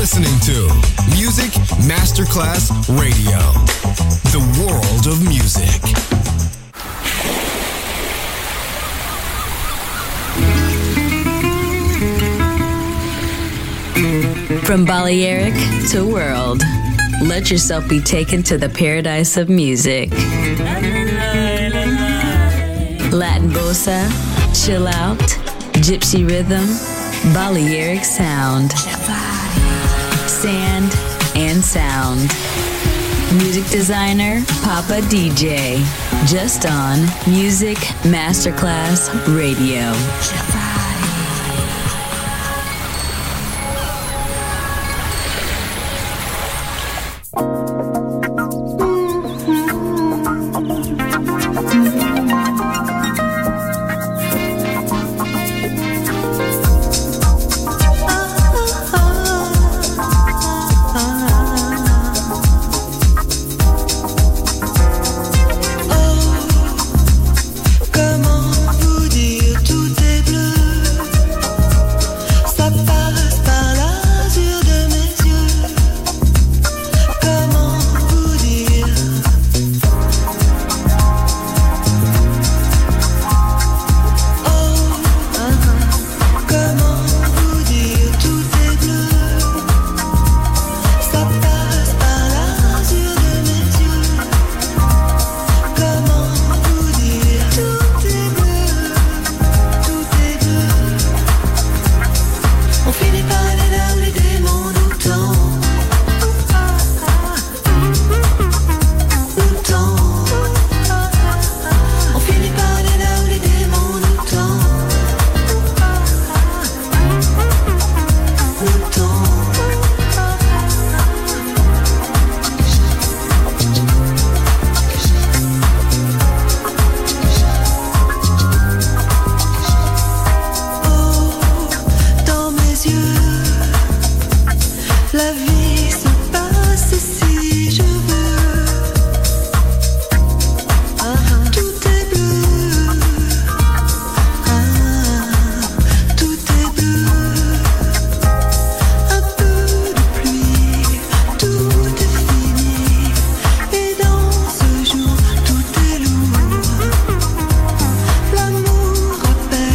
listening to Music Masterclass Radio, the world of music. From Balearic to world, let yourself be taken to the paradise of music. Latin bossa, chill out, gypsy rhythm, Balearic sound, sand and sound. Music designer, Papa DJ, just on Music Masterclass Radio.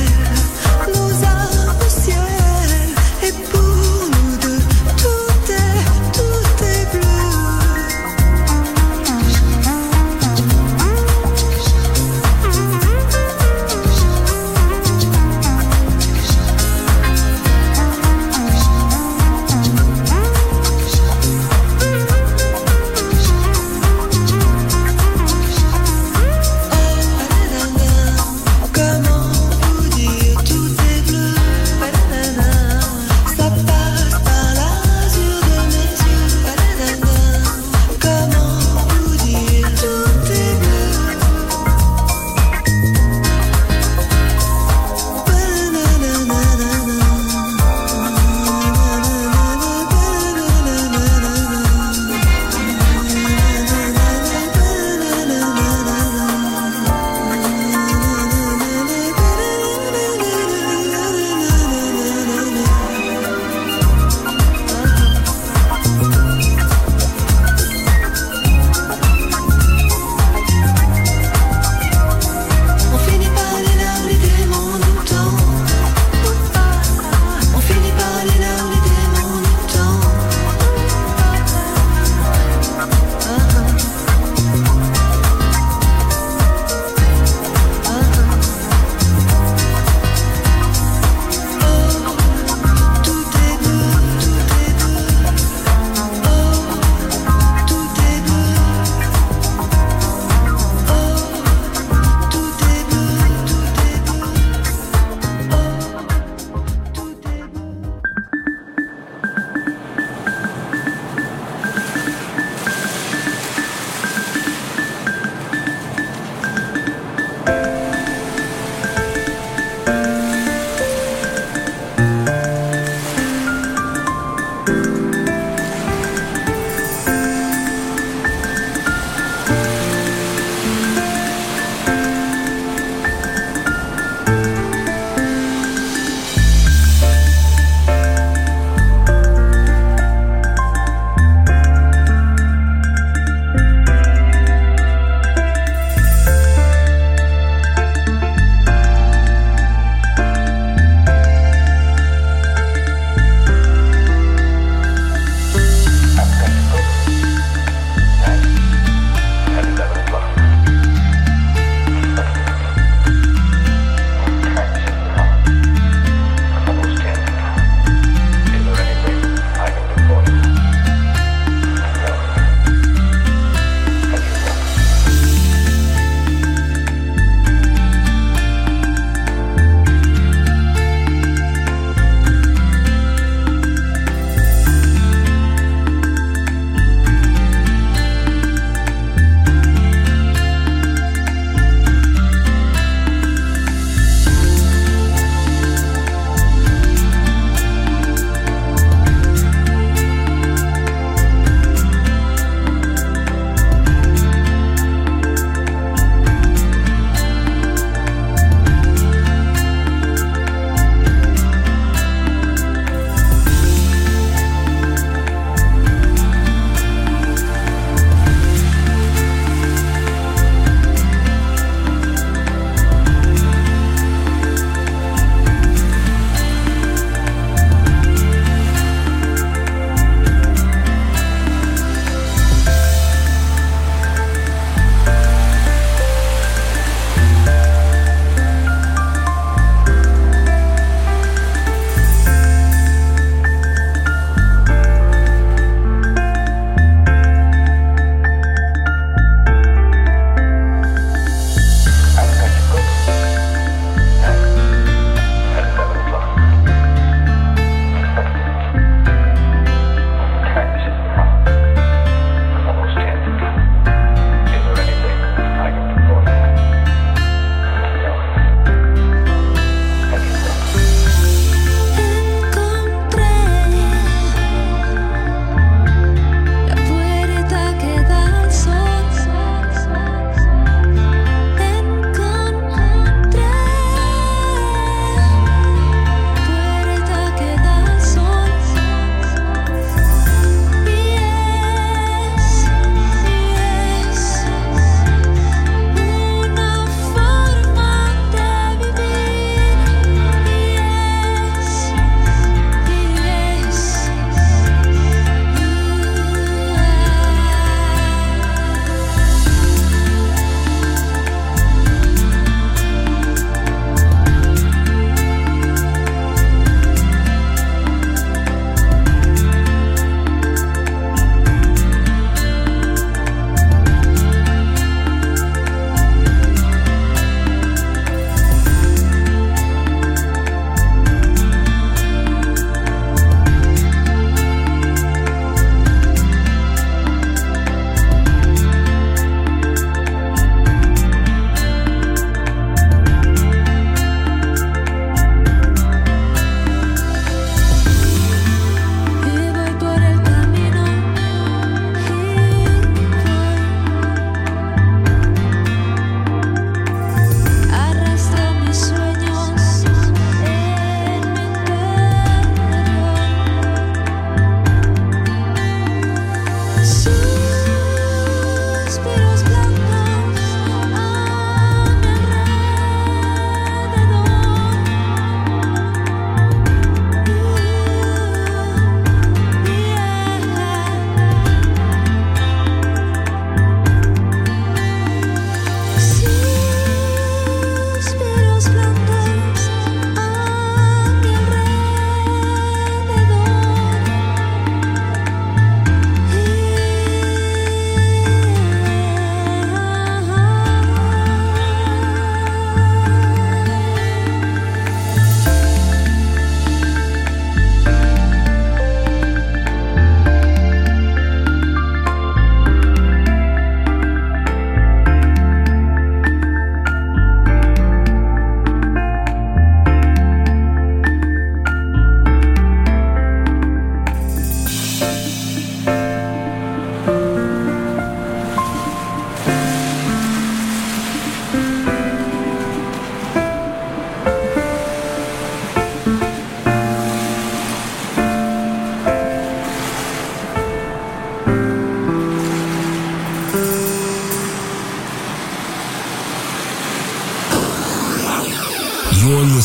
Pour nous deux, tout est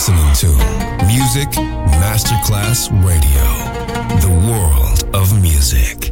listening to Music Masterclass Radio, the world of music.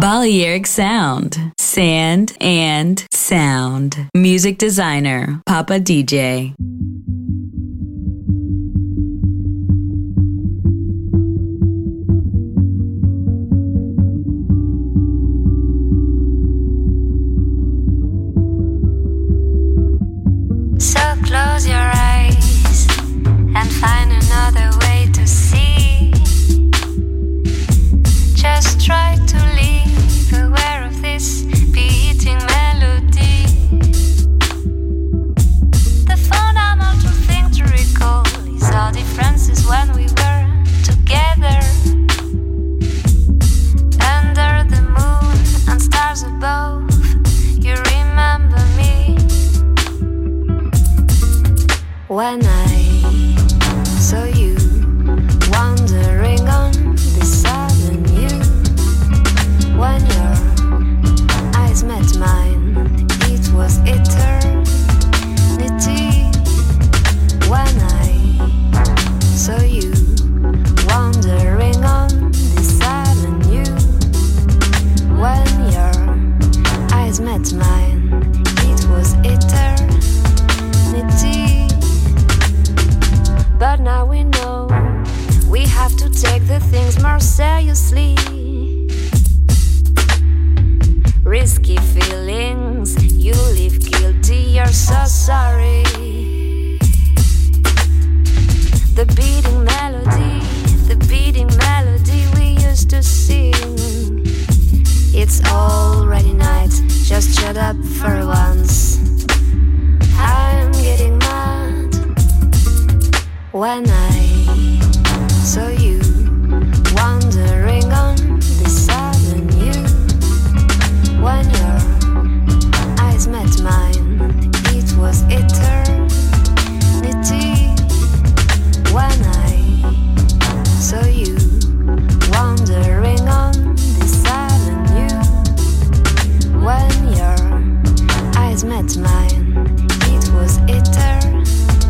Balearic Sound. Sand and Sound. Music designer, Papa DJ. So close your eyes and find another way to see. Just try to live aware of this beating melody. The fundamental thing to recall is our differences when we were together. Under the moon and stars above, you remember me. When I saw you wandering on this avenue, when your eyes met mine, it was eternity. When I saw you wandering on this avenue, when your eyes met mine, it was eternity. But now we know we have to take the things more seriously. Risky feelings, you live guilty, you're so sorry. The beating melody we used to sing. It's already night, just shut up for once. I'm getting mad. When I saw you wandering on this avenue, when your eyes met mine, it was eternity. When I saw you wandering on this avenue, when your eyes met mine, it was eternity.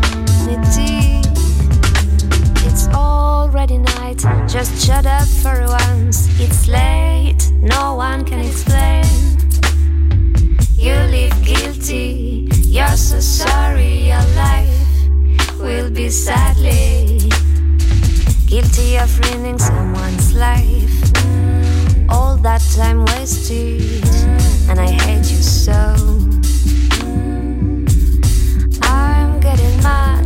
It's already night, just shut up for once. It's late, no one can explain. You live guilty, you're so sorry. Your life will be sadly guilty of ruining someone's life. All that time wasted, and I hate you so. I'm getting mad.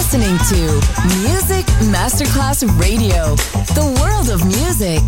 listening to Music Masterclass Radio, the world of music.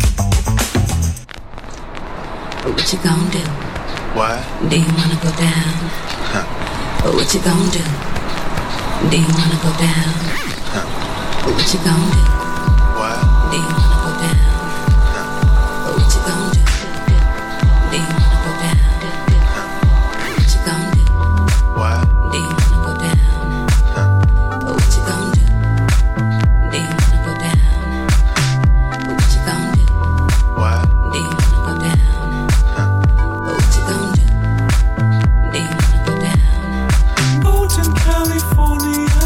What you gonna do? What? Do you wanna go down? Huh. What you gonna do? Do you wanna go down? Huh. What you gonna do? What? Do you wanna go down? Huh. What you gonna do? Do you wanna go down? Huh. What you gonna do? What? Do you wanna go down? Huh. What you gonna do? Do you wanna go down? What you gonna do? What? Do you wanna go down? Huh. What you gonna do? Do you wanna go down? Boat in California,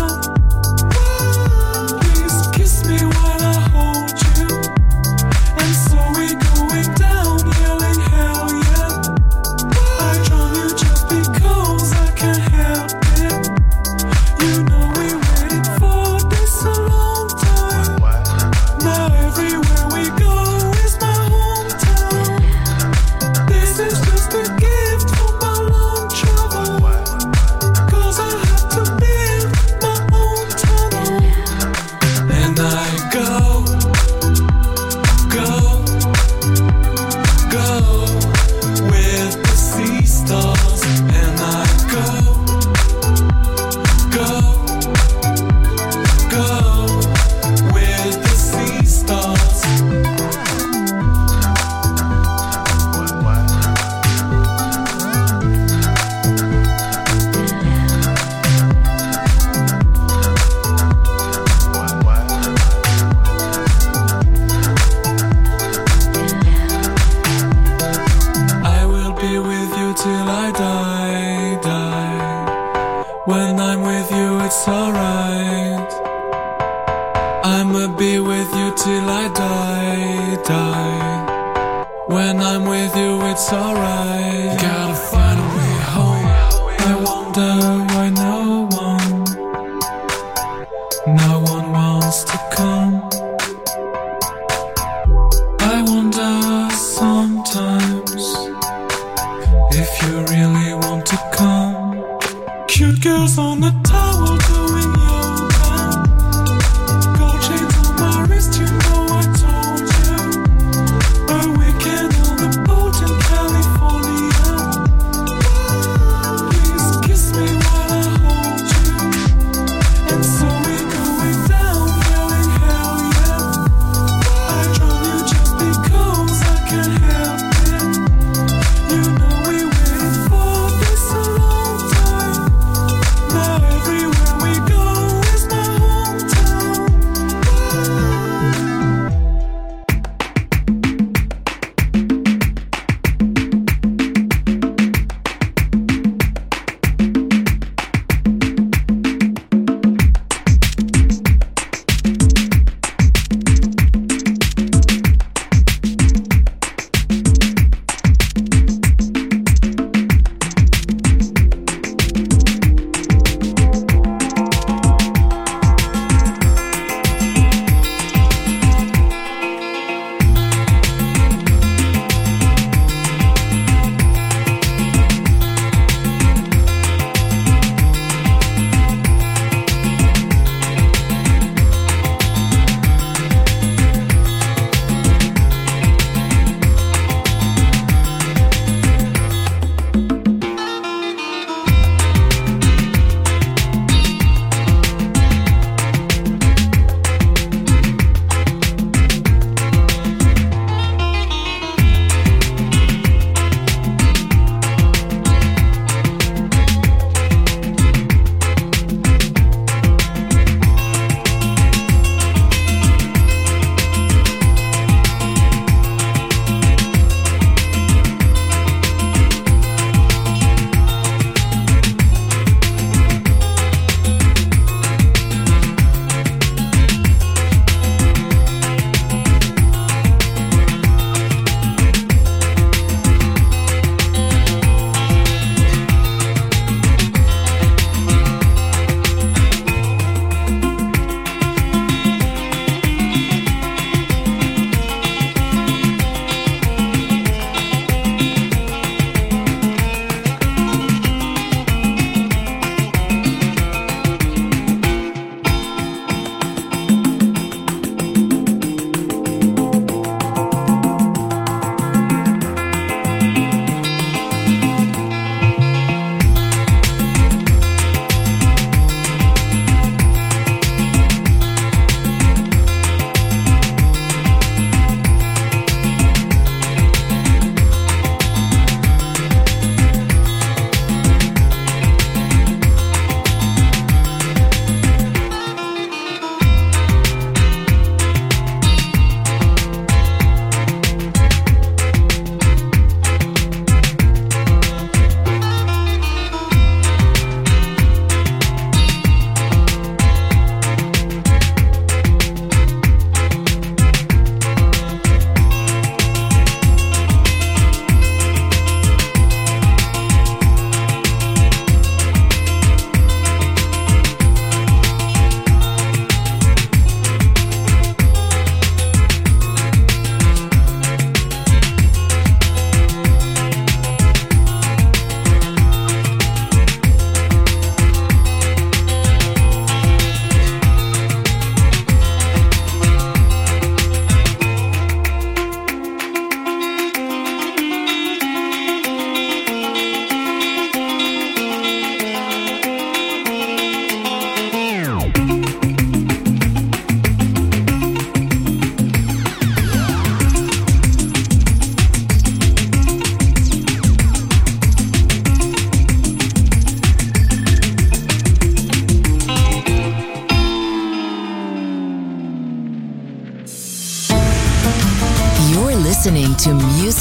please kiss me while I hold you. And so we're going down, yelling hell yeah. I drown you just because I can't help it. You know we waited for this a long time. What? Now everywhere we go is my hometown. This is just a gift for my long travel. What? 'Cause I have to build my own tunnel. And I go with the sea stars. And I go with the sea stars. What? I will be with you till I die. When I'm with you, it's alright. I'ma be with you till I die. When I'm with you, it's alright. Gotta find a way home. I wonder why no one wants to come. I wonder sometimes if you really want to come. Cute girls on the towel doing yoga. Gold chains on my wrist, you know I told you. A weekend on the boat in California. Please kiss me while I hold you. And so we're going down, yelling hell yeah. I drown you just because I can't help it. You know we waited for this a long time. Now everywhere we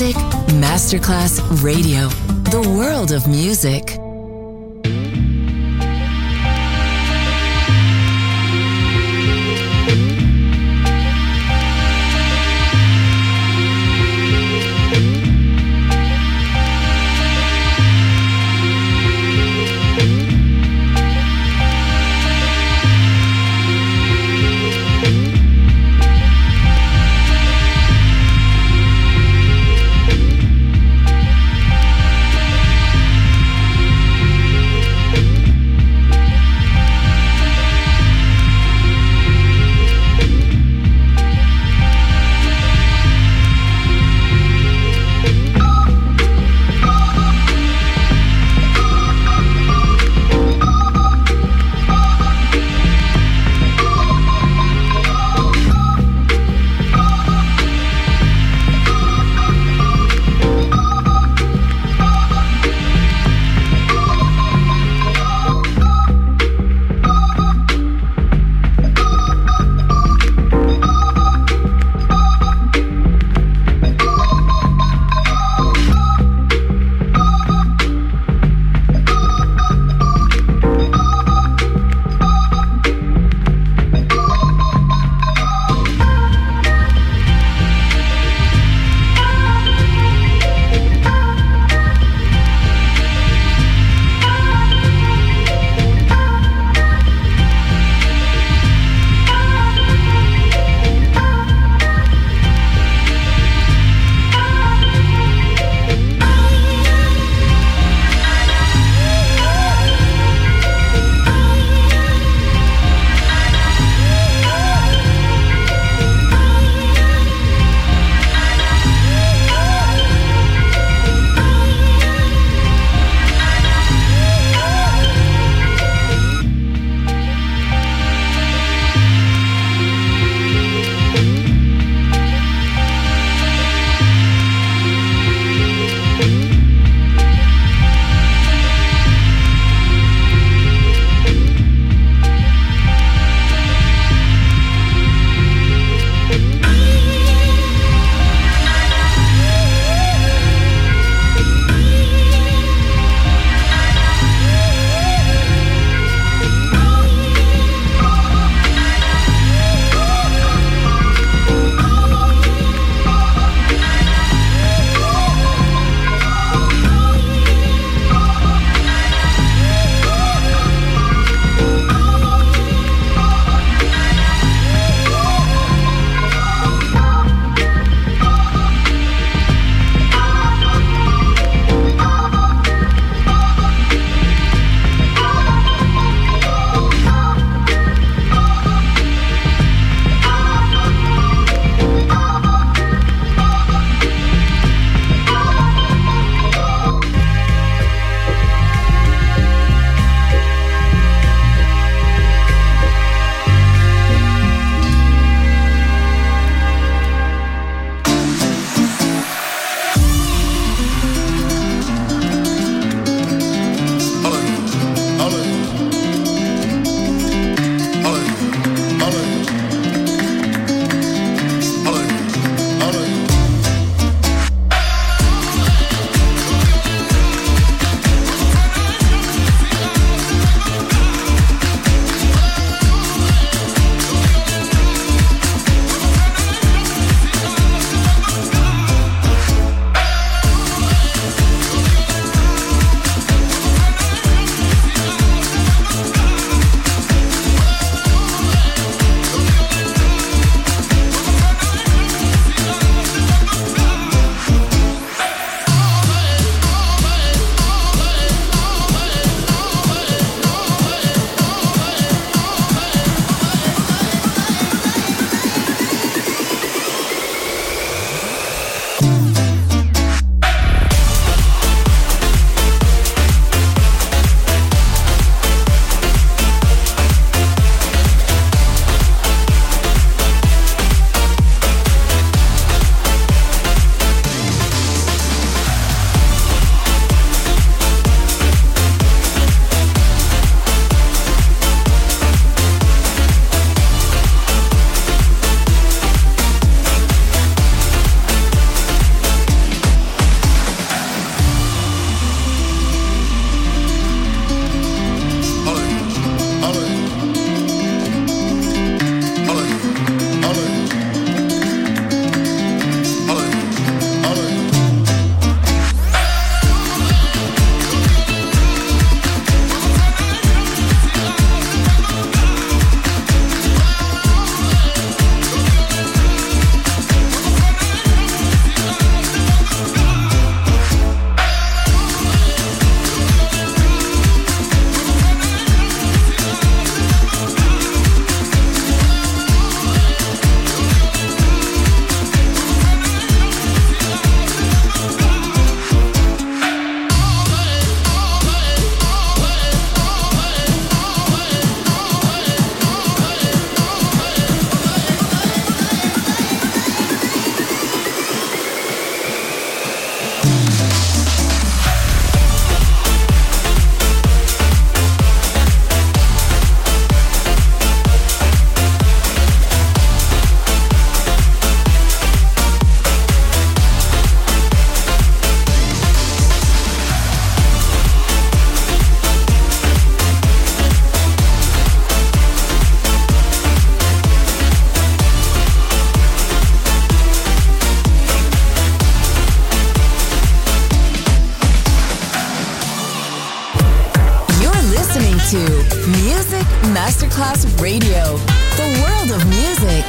Music Masterclass Radio. The world of music. to Music Masterclass Radio, the world of music.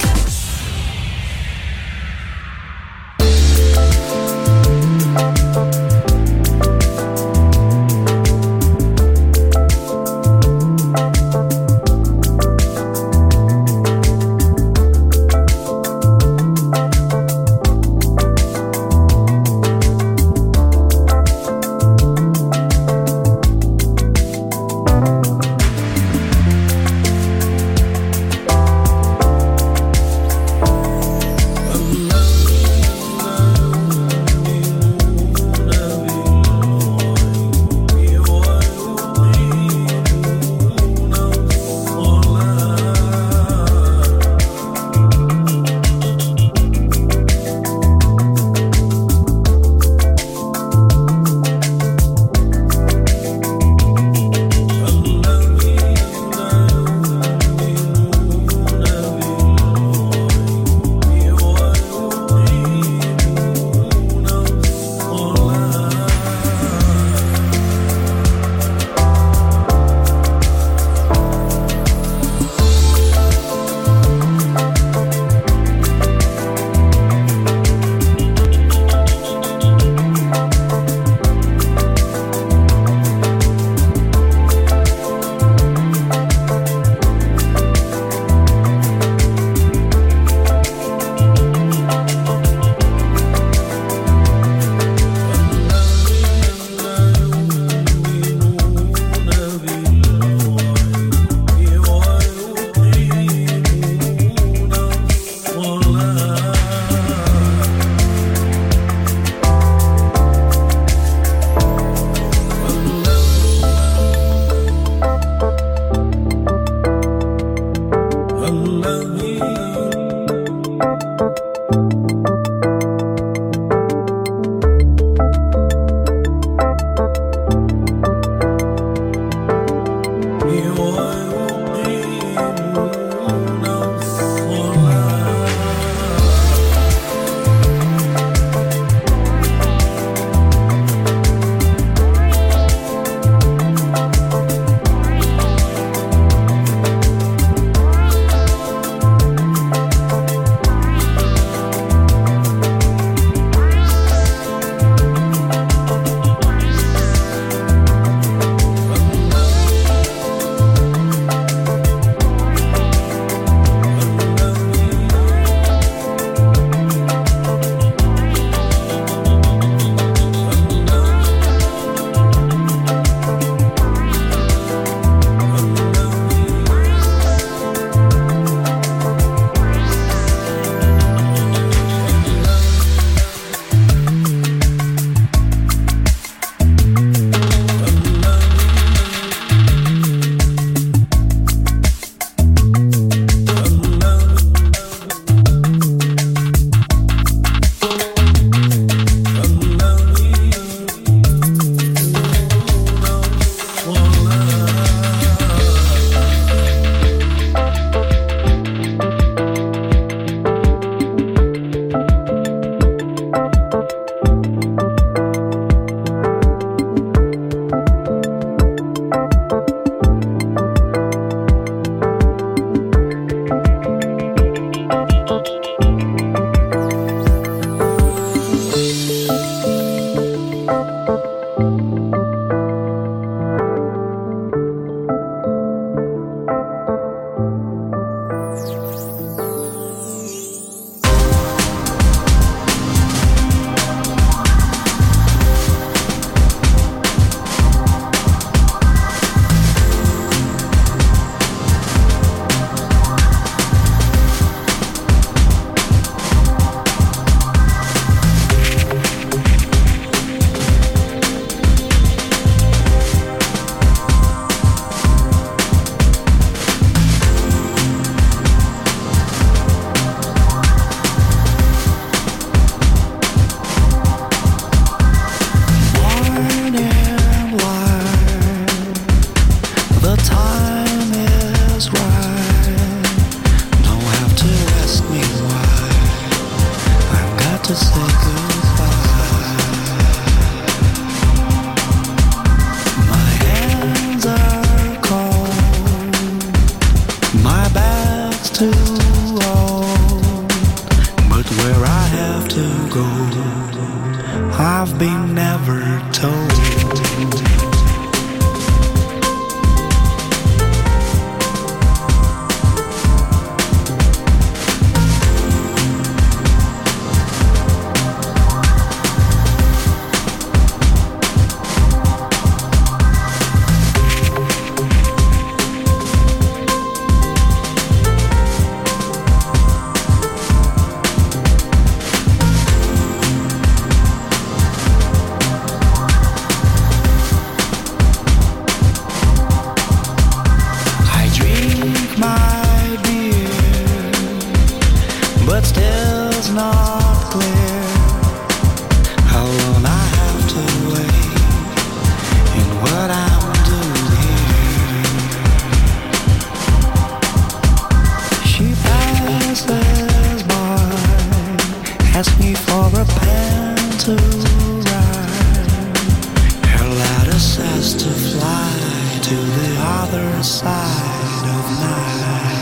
My hands are cold. other side of night.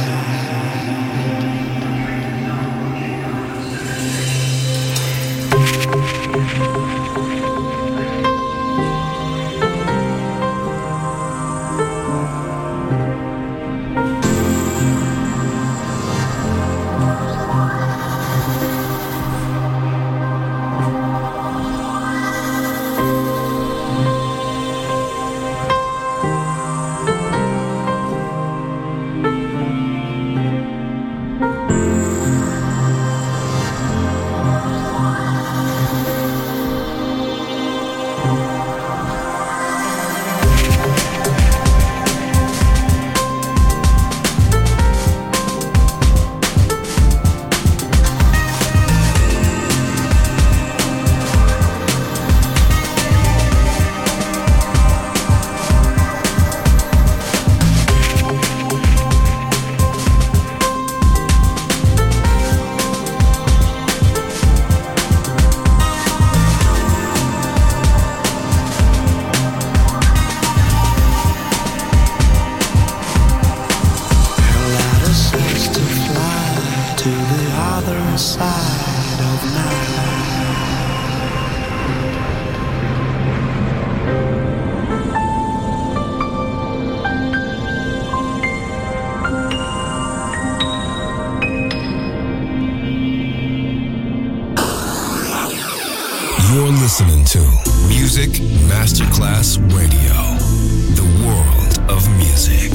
You're listening to Music Masterclass Radio, the world of music.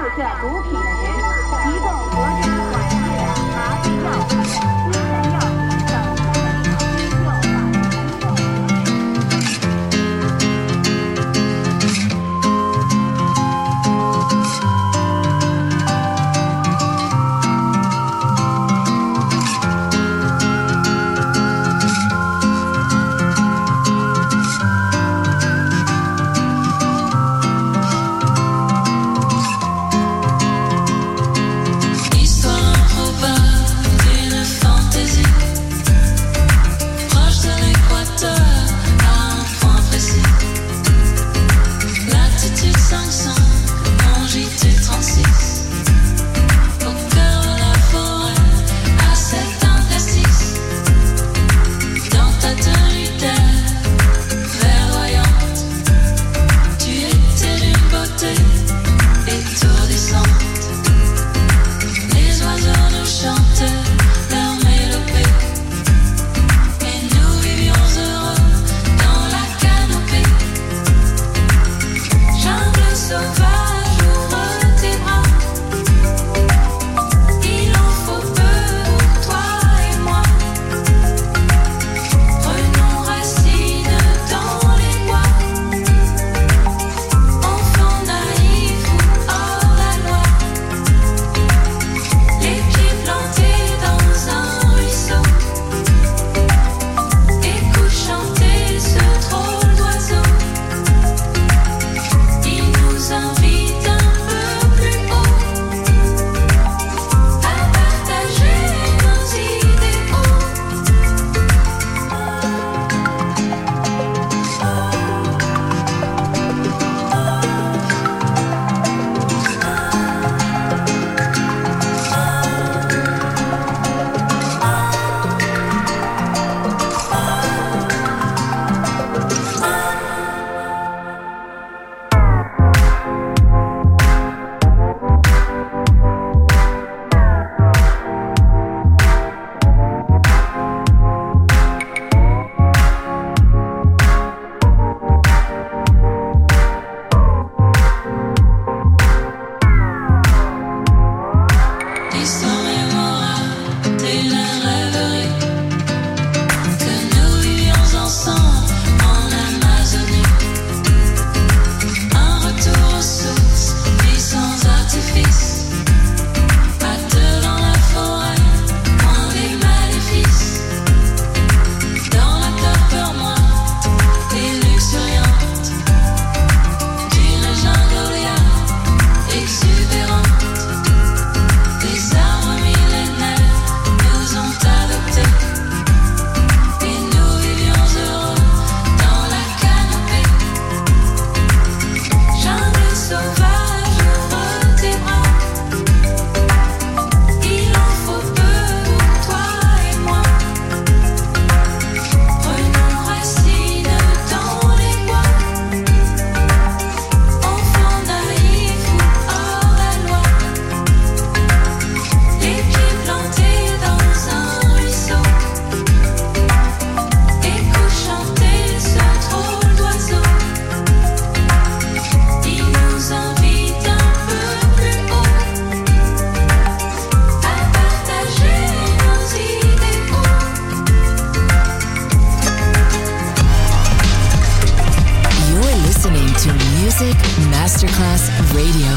射毒品的人提供国家管制的麻醉药品、精神药品等非法机构。 Masterclass Radio.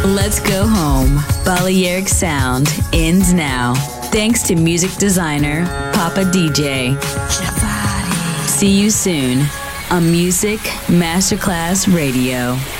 Let's Go Home. Balearic Sound ends now. Thanks to music designer Papa DJ. See you soon on Music Masterclass Radio.